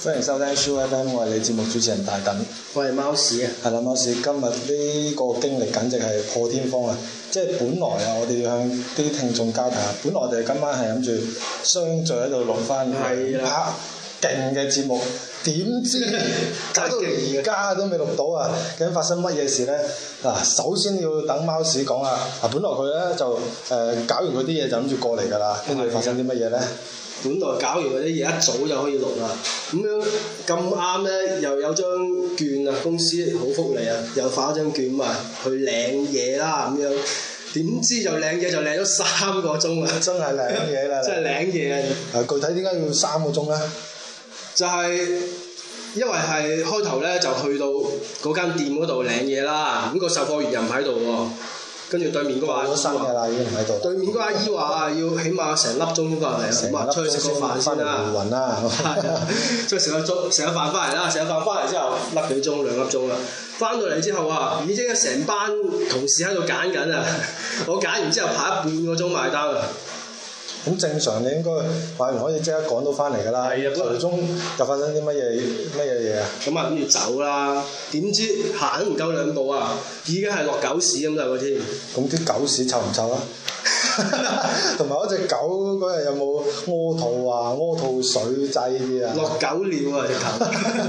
歡迎收聽 SooFM， 我係你節目主持人大躉， 我係貓屎啊！ 係啦，貓屎，今日呢個經歷簡直係破天荒啊！即係本來啊，我哋要向啲聽眾交代下，本來我哋今晚係諗住相聚喺度錄翻拍勁嘅節目，點知搞到而家都未錄到啊！究竟發生乜嘢事呢？嗱，首先要等貓屎講啊！嗱，本來佢咧就搞完嗰啲嘢就諗住過嚟㗎啦，跟住發生啲乜嘢呢？ 本來搞完嗰啲嘢一早就可以錄啦，咁樣咁啱咧，又有張券啊，公司好福利啊，又發咗張券嘛，去領嘢啦咁樣，點知就領嘢就領咗3個鐘啊！ 真係領嘢啦！ 真係領嘢啊！ 具體點解要3個鐘咧？ 就係因為係開頭咧就去到嗰間店嗰度領嘢啦，咁個售貨員又唔喺度喎。跟住對面嗰個阿姨話： 已經唔喺度。 對面嗰個阿姨話要起碼成粒鐘先翻嚟，咁啊出去食個飯先啦。係啊，出去食個飯翻嚟啦，食個飯翻嚟之後粒幾鐘2粒鐘啦。翻到嚟之後啊，已經成班同事喺度揀緊啊！我揀完之後排咗半個鐘埋單啊！ 咁正常你應該買完可以即刻趕到翻嚟㗎啦。係啊，途中又發生啲乜嘢啊？咁啊諗住走啦，點知行唔夠2步啊，已經係落狗屎咁滯喎添。 咁啲狗屎臭唔臭啊？同埋嗰隻狗嗰日有冇屙肚啊？屙肚水劑啲啊？ 落狗尿啊！直頭。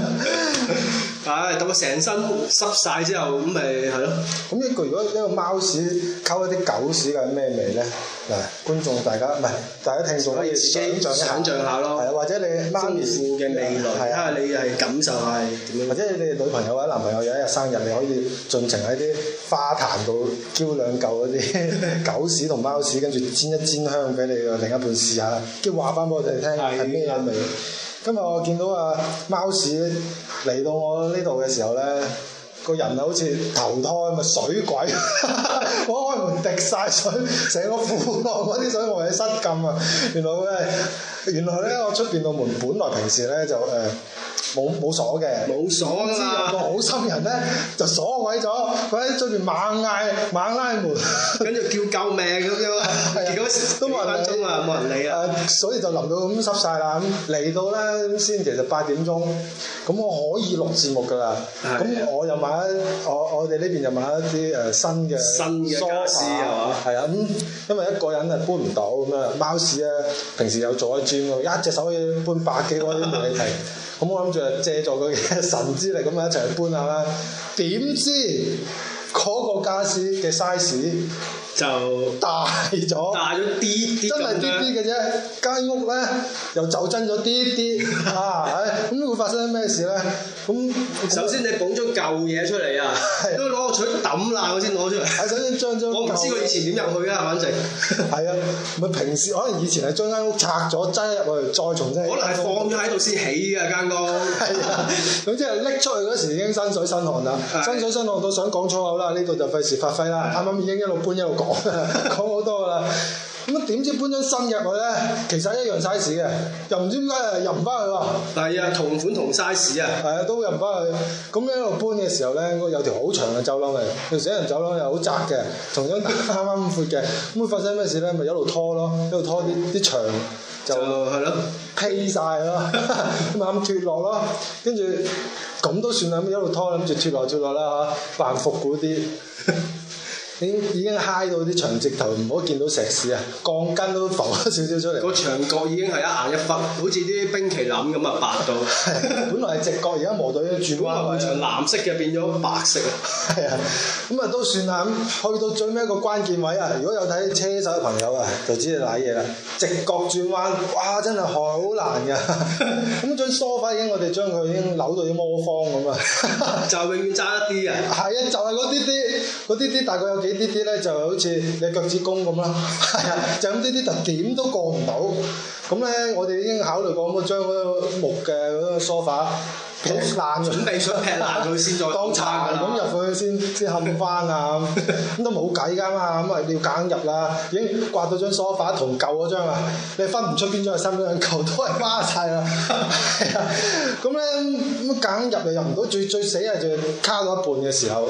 等我成身濕晒之後，咁咪係咯。 咁如果一個貓屎溝一啲狗屎係咩味咧？嗱，觀眾大家聽眾可以想像下咯。係啊，或者你媽咪嘅味蕾，睇下你係感受係點樣。 或者你女朋友或者男朋友有一日生日，你可以盡情喺啲花壇度澆2嚿嗰啲狗屎同貓屎，跟住煎一煎香俾你嘅另一半試下，跟住話翻俾我哋聽係咩味。今日我見到貓屎嚟到我呢度嘅時候咧，個人好似投胎咪水鬼，我開門滴晒水，成個褲浪嗰啲水我係失禁啊！原來咧我出邊道門本來平時咧就冇鎖嘅，冇鎖㗎嘛。有個好心人咧就鎖鬼咗，佢喺出邊猛嗌猛拉門， 跟住叫救命咁樣，結果都冇人理啊，冇人理啊。 所以就淋到咁濕晒啦。咁嚟到咧先，其實8點鐘，咁我可以錄節目㗎啦。咁我又買我哋呢邊又買一啲新嘅傢俬係嘛？ 係啊，咁因為一個人搬唔到咁啊，貓屎咧平時有做一轉喎，一隻手可以搬100幾個都冇你停。咁我諗住借助佢嘅神之力咁啊一齊去搬下啦。點知嗰個傢俬嘅 size 就大咗啲，真係啲嘅啫。間屋咧又就真咗啲啊！咁會發生咩事咧？咁首先你捧咗舊嘢出嚟啊，都攞個錘揼爛佢先攞出嚟。 首先將我唔知佢以前點入去啊，反正係啊，咪平時可能以前係將間屋拆咗擠入去，再重新可能係放咗喺度先起嘅間屋。係啊， 總之係拎出去嗰時已經身水身汗啦，身水身汗到想講粗口啦，呢度就費事發揮啦。啱啱已經一路搬一路講好多㗎啦。咁啊點知搬張新入去咧，其實一樣 size 嘅，又唔知點解入唔翻去喎。係啊，同款同 size 啊。 係啊，都入唔翻去。咁一路搬嘅時候咧，有條好長嘅走廊嚟，條死人走廊又好窄嘅，同樣啱啱咁闊嘅。咁會發生咩事咧？咪一路拖咯，一路拖啲牆就係咯，披晒咯，咁啱脫落咯，跟住咁都算啦，咁一路拖諗住脫落啦嚇，扮復古啲。已經嗨到啲牆直頭唔可以見到石屎啊，鋼筋都浮咗少少出嚟。個牆角已經係一硬一忽，好似啲冰淇淋咁啊，白到。 本來係直角，而家磨到已經轉彎位。 牆藍色嘅變咗白色啊。係啊， 咁啊都算啦。咁去到最尾一個關鍵位啊，如果有睇車手嘅朋友啊，就知你瀨嘢啦。直角轉彎，哇！真係好難㗎。咁張梳化我哋將佢已經扭到啲魔方咁啊。 就永遠爭一啲啊。 係啊，就係嗰啲大概有幾啲咧，就好似你腳趾公咁啦。係啊，就咁啲就點都過唔到。咁咧，我哋已經考慮過咁將嗰個木嘅嗰個梳化劈爛， 準備想劈爛佢先再當殘咁入去先冚翻啊！咁都冇計㗎嘛，咁啊要夾硬入啦。已經刮到張梳化同舊嗰張啊，你分唔出邊張係新邊張，舊都係花晒啦。係啊，咁咧咁夾硬入又入唔到，最死係就卡到一半嘅時候。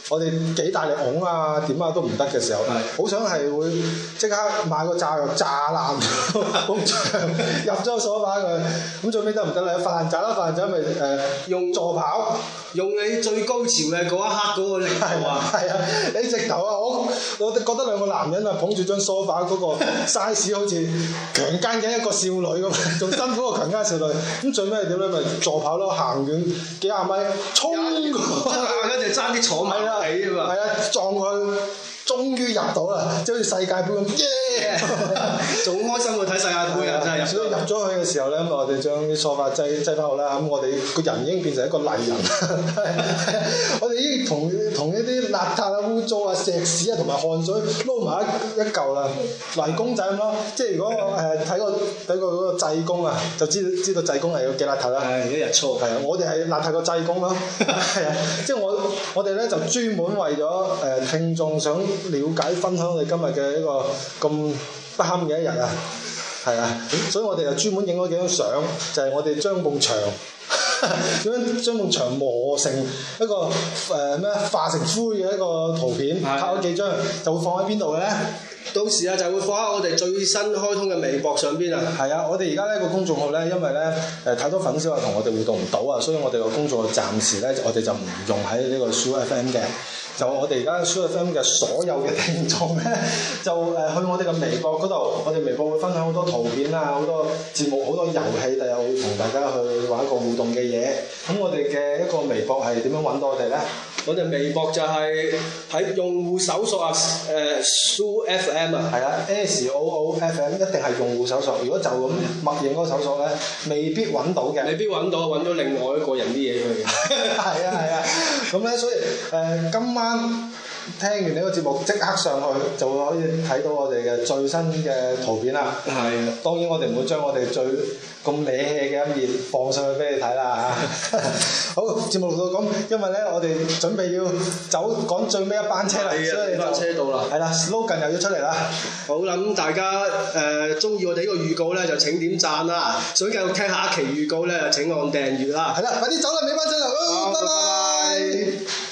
我哋幾大力拱啊點啊都唔得嘅時候，好想係會即刻買個炸藥炸爛埲牆，入咗個梳化佢，咁最尾得唔得咧？發爛渣啦，發爛渣咪用助跑， 用你最高潮嘅嗰一刻嗰個力度啊！ 係啊，你直頭啊，我覺得兩個男人啊捧住張梳化嗰個 size 好似強姦緊一個少女咁，仲辛苦過強姦少女。咁最尾係點咧？咪助跑咯，行遠幾廿米，衝過， 跟住爭啲坐埋起啊嘛！ 係啊，撞佢。終於入到啦，即係好似世界盃咁，耶！ 仲開心過睇世界盃啊！真係入咗去嘅時候咧，咁我哋將啲梳化擠翻好啦，咁我哋個人已經變成一個麗人，我哋已經同一啲邋遢啊、污糟啊、石屎啊同埋汗水撈埋一嚿啦，泥公仔咁咯。即係如果睇過嗰個濟公啊，就知道濟公係有幾邋遢啦。 係一日操。係啊，我哋係邋遢過濟公咯。係啊，即係我哋咧就專門為咗聽眾想了解分享我哋今日嘅一個咁不堪嘅一日啊，係啊，所以我哋就專門影咗幾張相，就係我哋將埲牆點樣將埲牆磨成一個化成灰嘅一個圖片，拍咗幾張，就會放喺邊度嘅咧？ 到時啊，就會放喺我哋最新開通嘅微博上邊啊。 係啊，我哋而家呢個公眾號咧，因為咧太多粉絲話同我哋互動唔到啊，所以我哋個公眾號暫時咧，我哋就唔用喺呢個 SooFM 嘅。就我哋而家 SooFM 嘅所有嘅聽眾咧，就去我哋嘅微博嗰度，我哋微博會分享好多圖片啊，好多節目，好多遊戲，第日會同大家去玩一個互動嘅嘢。咁我哋嘅一個微博係點樣揾到我哋咧？ 我哋微博就係喺用戶搜索啊，SooFM 啊， 係啊 SooFM 一定係用戶搜索。如果就咁默認嗰個搜索咧，未必揾到嘅。 未必揾到，揾到另外一個人啲嘢去。 係啊，咁咧所以今晚聽完呢個節目即刻上去就會可以睇到我哋嘅最新嘅圖片啦。係啊，當然我哋唔會將我哋最咁惹氣嘅一面放上去俾你睇啦嚇。好，節目錄到咁，因為咧我哋準備要走趕最尾一班車啦，所以班車到啦。 係啦 ，slogan 又要出嚟啦。 好啦，咁大家中意我哋呢個預告咧，就請點讚啦。想繼續聽下一期預告咧，就請按訂閱啦。 係啦，快啲走啦，尾班車啦，拜拜。